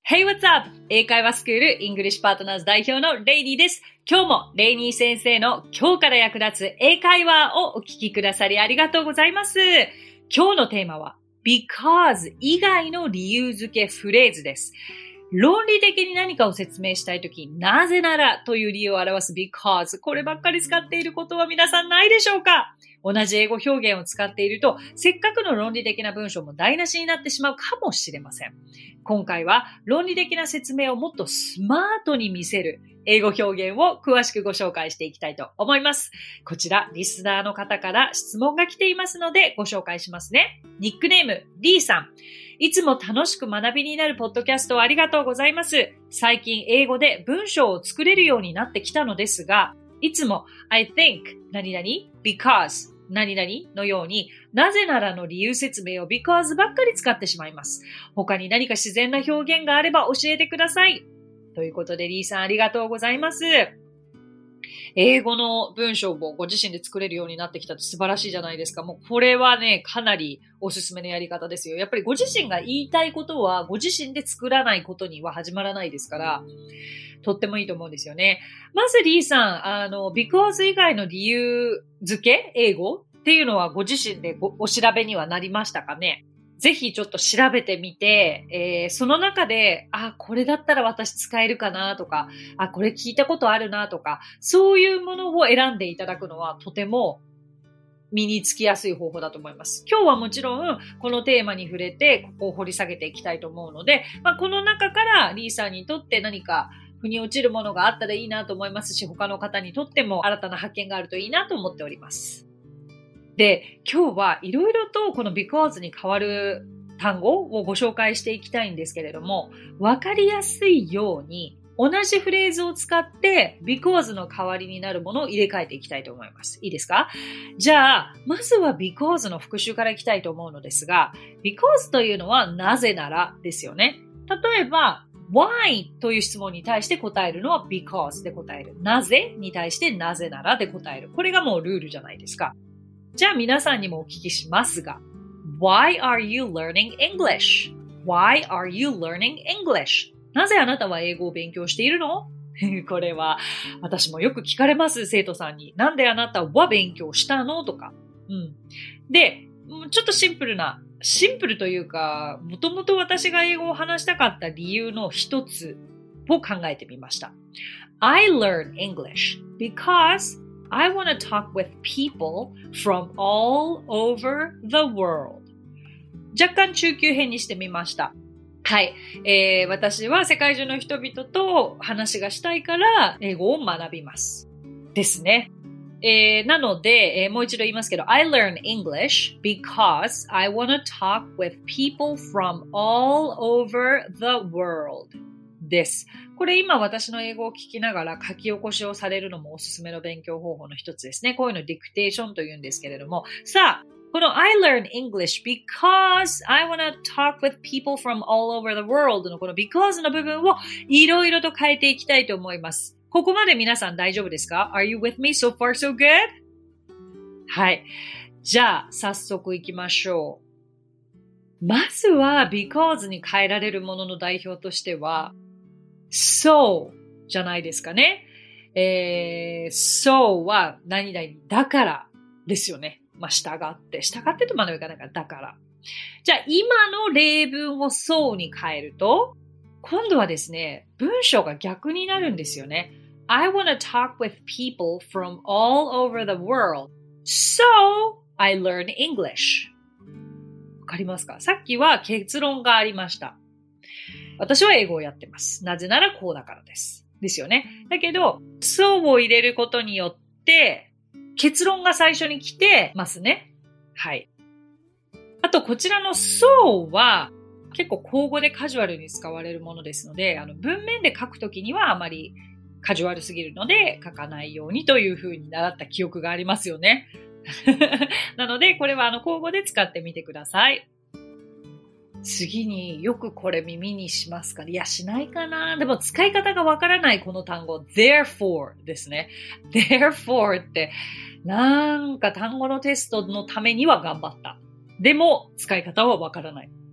Hey, what's up? 英会話スクールイングリッシュパートナーズ代表のレイニーです。今日もレイニー先生の今日から役立つ英会話をお聞きくださりありがとうございます。今日のテーマは because 以外の理由付けフレーズです。論理的に何かを説明したいとき、なぜならという理由を表す because。こればっかり使っていることは皆さんないでしょうか？同じ英語表現を使っていると、せっかくの論理的な文章も台無しになってしまうかもしれません。今回は論理的な説明をもっとスマートに見せる英語表現を詳しくご紹介していきたいと思います。こちら、リスナーの方から質問が来ていますのでご紹介しますね。ニックネーム、リーさん。いつも楽しく学びになるポッドキャストをありがとうございます。最近英語で文章を作れるようになってきたのですが、いつも I think 何々 because 何々のようになぜならの理由説明を because ばっかり使ってしまいます。他に何か自然な表現があれば教えてください。ということでリーさんありがとうございます。英語の文章をご自身で作れるようになってきたって素晴らしいじゃないですか。もうこれはね、かなりおすすめのやり方ですよ。やっぱりご自身が言いたいことはご自身で作らないことには始まらないですから、とってもいいと思うんですよね。まずリーさん、because 以外の理由付け、英語っていうのはご自身でお調べにはなりましたかね？ぜひちょっと調べてみて、その中で、これだったら私使えるかなとか、これ聞いたことあるなとか、そういうものを選んでいただくのはとても身につきやすい方法だと思います。今日はもちろんこのテーマに触れて、ここを掘り下げていきたいと思うので、この中からリーさんにとって何か腑に落ちるものがあったらいいなと思いますし、他の方にとっても新たな発見があるといいなと思っております。で、今日はいろいろとこの because に変わる単語をご紹介していきたいんですけれども、わかりやすいように同じフレーズを使って because の代わりになるものを入れ替えていきたいと思います。いいですか？じゃあ、まずは because の復習からいきたいと思うのですが、because というのはなぜならですよね。例えば、why という質問に対して答えるのは because で答える。なぜに対してなぜならで答える。これがもうルールじゃないですか。じゃあ皆さんにもお聞きしますが、Why are you learning English? Why are you learning English? なぜあなたは英語を勉強しているの？これは私もよく聞かれます、生徒さんに。なんであなたは勉強したの？とか。で、ちょっとシンプルというか、もともと私が英語を話したかった理由の一つを考えてみました。I learn English because I want to talk with people from all over the world. 若干中級編にしてみました。はい、私は世界中の人々と話がしたいから英語を学びます。ですね。なので、もう一度言いますけど、I learn English because I want to talk with people from all over the world. です。これ今私の英語を聞きながら書き起こしをされるのもおすすめの勉強方法の一つですね。こういうのディクテーションと言うんですけれども。さあ、この I learn English because I want to talk with people from all over the world のこの because の部分をいろいろと変えていきたいと思います。ここまで皆さん大丈夫ですか？ Are you with me? So far so good? はい。じゃあ、早速行きましょう。まずは because に変えられるものの代表としてはSo じゃないですかね。So は何々だからですよね。従ってとまではいかないからだから。じゃあ今の例文を So に変えると、今度はですね、文章が逆になるんですよね。I want to talk with people from all over the world. So I learn English. わかりますか？さっきは結論がありました。私は英語をやってます。なぜならこうだからです。ですよね。だけど、so を入れることによって、結論が最初に来てますね。はい。あと、こちらの so は、結構口語でカジュアルに使われるものですので、文面で書くときにはあまりカジュアルすぎるので書かないようにというふうに習った記憶がありますよね。なので、これは口語で使ってみてください。次によくこれ耳にしますか？いや、しないかな。でも使い方がわからないこの単語 therefore ですね。therefore ってなんか単語のテストのためには頑張った。でも使い方はわからない。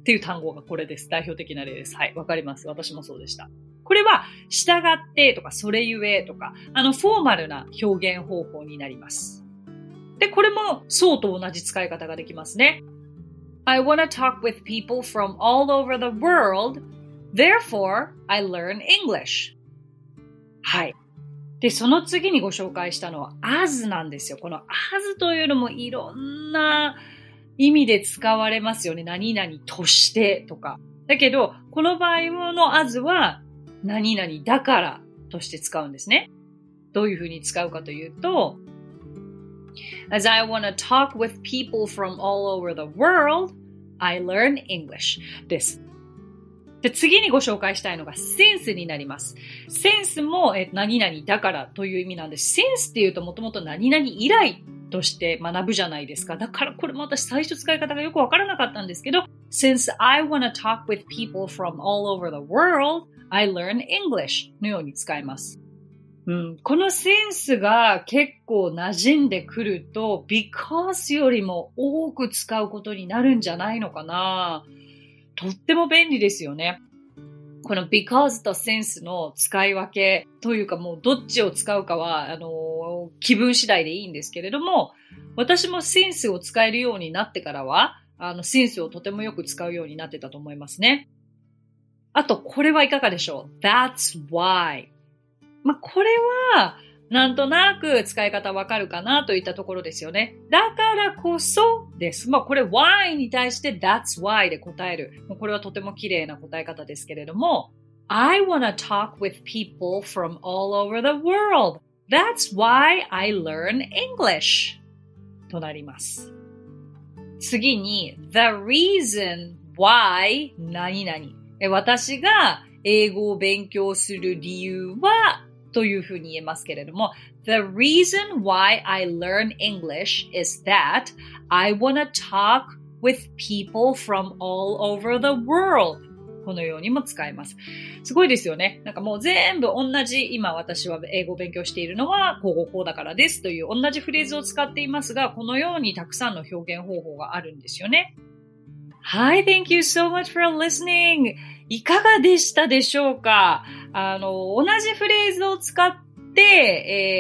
っていう単語がこれです。代表的な例です。はい、わかります。私もそうでした。これは、従ってとか、それゆえとか、フォーマルな表現方法になります。で、これも、そうと同じ使い方ができますね。I wanna talk with people from all over the world, therefore, I learn English. はい。で、その次にご紹介したのは as なんですよ。この as というのもいろんな意味で使われますよね。何々としてとか。だけど、この場合の as は何々だからとして使うんですね。どういうふうに使うかというと、As I want to talk with people from all over the world, I learn English です。で、次にご紹介したいのが since になります。since も何々だからという意味なんです。since っていうともともと何々以来として学ぶじゃないですか。だからこれも私最初使い方がよくわからなかったんですけど、Since I want to talk with people from all over the world, I learn English のように使います。このセンスが結構馴染んでくると because よりも多く使うことになるんじゃないのかな。とっても便利ですよね。この because と sense の使い分けというかもうどっちを使うかは気分次第でいいんですけれども、私も sense を使えるようになってからはsense をとてもよく使うようになってたと思いますね。あとこれはいかがでしょう？ That's why。これはなんとなく使い方わかるかなといったところですよね。だからこそです。これ why に対して that's why で答える。これはとても綺麗な答え方ですけれども、I wanna talk with people from all over the world. That's why I learn English となります。次に the reason why 何々。私が英語を勉強する理由はというふうに言えますけれども、The reason why I learn English is that I want to talk with people from all over the world. このようにも使えます。すごいですよね。なんかもう全部同じ、今私は英語を勉強しているのはこうだからですという同じフレーズを使っていますが、このようにたくさんの表現方法があるんですよね。Hi, thank you so much for listening. いかがでしたでしょうか？同じフレーズを使って、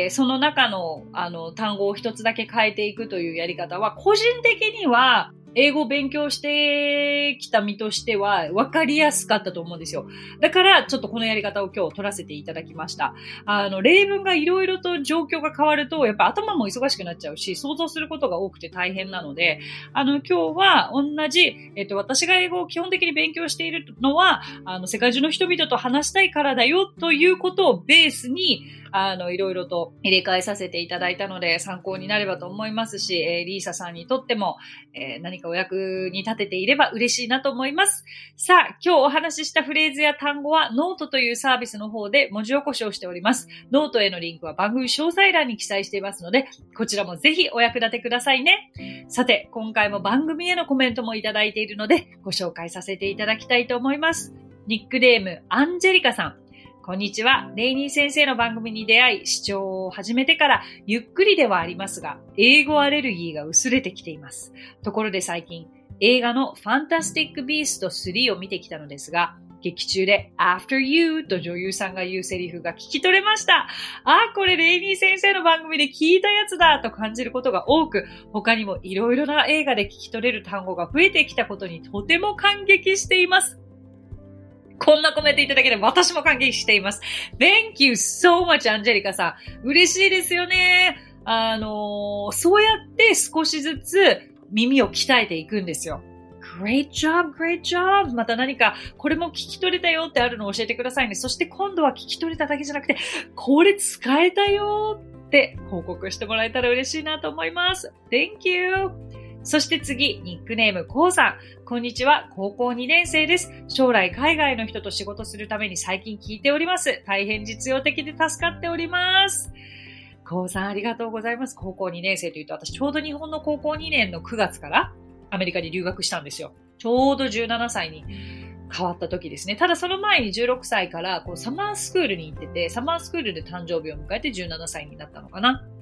その中の、単語を一つだけ変えていくというやり方は、個人的には、英語を勉強してきた身としては分かりやすかったと思うんですよ。だからちょっとこのやり方を今日取らせていただきました。例文がいろいろと状況が変わるとやっぱ頭も忙しくなっちゃうし想像することが多くて大変なので、今日は同じ、私が英語を基本的に勉強しているのは世界中の人々と話したいからだよということをベースにいろいろと入れ替えさせていただいたので参考になればと思いますし、リーサさんにとっても、何かお役に立てていれば嬉しいなと思います。さあ、今日お話ししたフレーズや単語はノートというサービスの方で文字起こしをしております。ノートへのリンクは番組詳細欄に記載していますので、こちらもぜひお役立てくださいね。さて、今回も番組へのコメントもいただいているので、ご紹介させていただきたいと思います。ニックネーム、アンジェリカさん。こんにちは。レイニー先生の番組に出会い、視聴を始めてからゆっくりではありますが、英語アレルギーが薄れてきています。ところで最近、映画のファンタスティック・ビースト3を見てきたのですが、劇中で After You と女優さんが言うセリフが聞き取れました。これレイニー先生の番組で聞いたやつだと感じることが多く、他にもいろいろな映画で聞き取れる単語が増えてきたことにとても感激しています。こんなコメントいただけで私も感激しています。Thank you so much, アンジェリカさん。嬉しいですよね。そうやって少しずつ耳を鍛えていくんですよ。Great job, great job. また何かこれも聞き取れたよってあるのを教えてくださいね。そして今度は聞き取れただけじゃなくて、これ使えたよって報告してもらえたら嬉しいなと思います。Thank you. そして次、ニックネームコウさん。こんにちは。高校2年生です。将来海外の人と仕事するために最近聞いております。大変実用的で助かっております。コウさんありがとうございます。高校2年生というと、私ちょうど日本の高校2年の9月からアメリカに留学したんですよ。ちょうど17歳に変わった時ですね。ただその前に16歳からサマースクールに行ってて、サマースクールで誕生日を迎えて17歳になったのかな。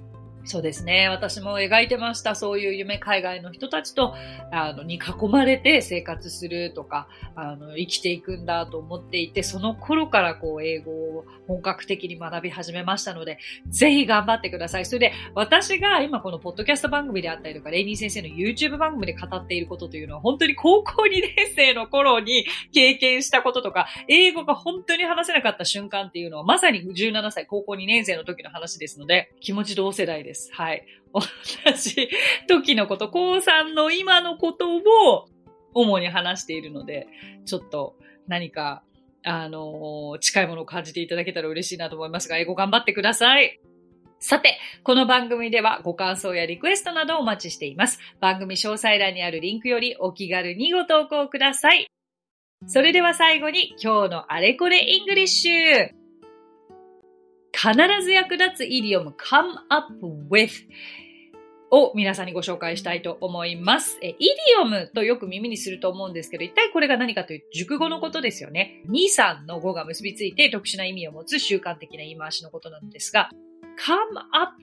そうですね。私も描いてました。そういう夢、海外の人たちと、に囲まれて生活するとか、生きていくんだと思っていて、その頃から英語を本格的に学び始めましたので、ぜひ頑張ってください。それで、私が今このポッドキャスト番組であったりとか、レイニー先生の YouTube 番組で語っていることというのは、本当に高校2年生の頃に経験したこととか、英語が本当に話せなかった瞬間っていうのは、まさに17歳、高校2年生の時の話ですので、気持ち同世代です。はい。同じ時のこと、高3の今のことを主に話しているので、ちょっと何か、近いものを感じていただけたら嬉しいなと思いますが、英語頑張ってください。さて、この番組ではご感想やリクエストなどをお待ちしています。番組詳細欄にあるリンクよりお気軽にご投稿ください。それでは最後に今日のあれこれイングリッシュ。必ず役立つイディオム come up with を皆さんにご紹介したいと思います。イディオムとよく耳にすると思うんですけど、一体これが何かというと熟語のことですよね。2、3の語が結びついて特殊な意味を持つ習慣的な言い回しのことなんですが、come up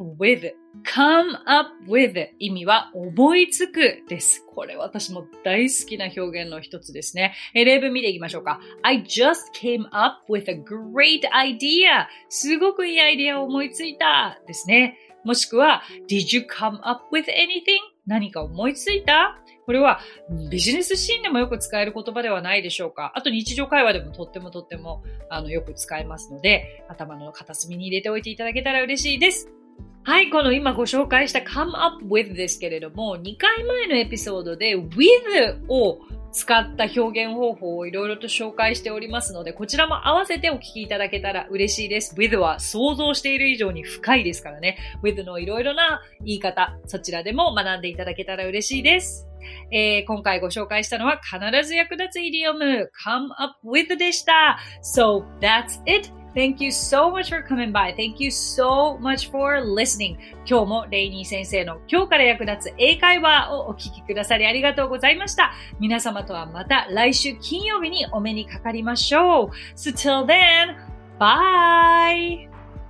with 意味は思いつくです。これ私も大好きな表現の一つですね。例文見ていきましょうか。I just came up with a great idea. すごくいいアイデアを思いついたですね。もしくは Did you come up with anything? 何か思いついた？これはビジネスシーンでもよく使える言葉ではないでしょうか。あと日常会話でもとってもよく使えますので、頭の片隅に入れておいていただけたら嬉しいです。はい、この今ご紹介した come up with ですけれども、2回前のエピソードで with を使った表現方法をいろいろと紹介しておりますので、こちらも合わせてお聞きいただけたら嬉しいです。with は想像している以上に深いですからね。with のいろいろな言い方、そちらでも学んでいただけたら嬉しいです。今回ご紹介したのは必ず役立つイディオム come up with でした。So that's it.Thank you so much for coming by. Thank you so much for listening. 今日もレイニー先生の今日から役立つ英会話をお聞きくださりありがとうございました。皆様とはまた来週金曜日にお目にかかりましょう。So till then, bye!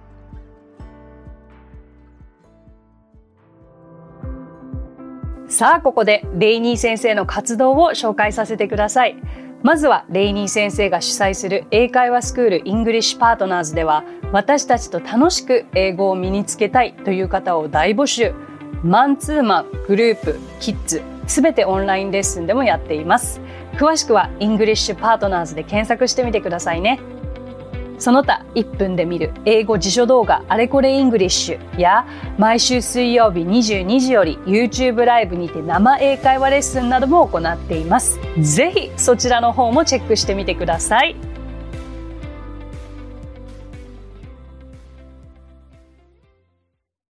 さあ、ここでレイニー先生の活動を紹介させてください。まずはレイニー先生が主催する英会話スクールイングリッシュパートナーズでは、私たちと楽しく英語を身につけたいという方を大募集。マンツーマン、グループ、キッズ、すべてオンラインレッスンでもやっています。詳しくはイングリッシュパートナーズで検索してみてくださいね。その他1分で見る英語辞書動画あれこれイングリッシュや毎週水曜日22時より YouTube ライブにて生英会話レッスンなども行っています。ぜひそちらの方もチェックしてみてください。